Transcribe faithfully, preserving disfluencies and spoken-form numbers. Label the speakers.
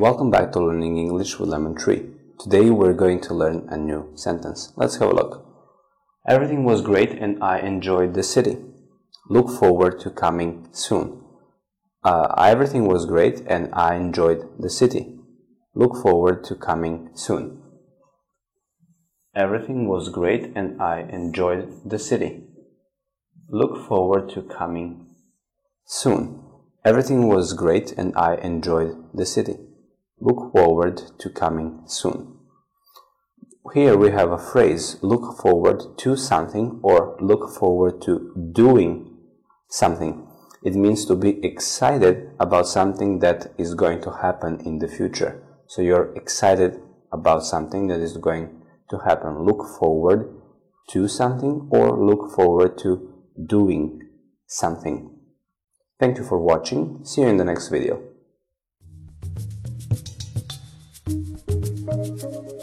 Speaker 1: Welcome back to Learning English with Lemon Tree. Today we're going to learn a new sentence. Let's have a look. Everything was great and I enjoyed the city. Look forward to coming soon. Uh, everything was great and I enjoyed the city. Look forward to coming soon. Everything was great and I enjoyed the city. Look forward to coming soon. Everything was great and I enjoyed the city. Look forward to coming soon. Here we have a phrase, look forward to something or look forward to doing something. It means to be excited about something that is going to happen in the future. So you're excited about something that is going to happen. Look forward to something or look forward to doing something. Thank you for watching. See you in the next video.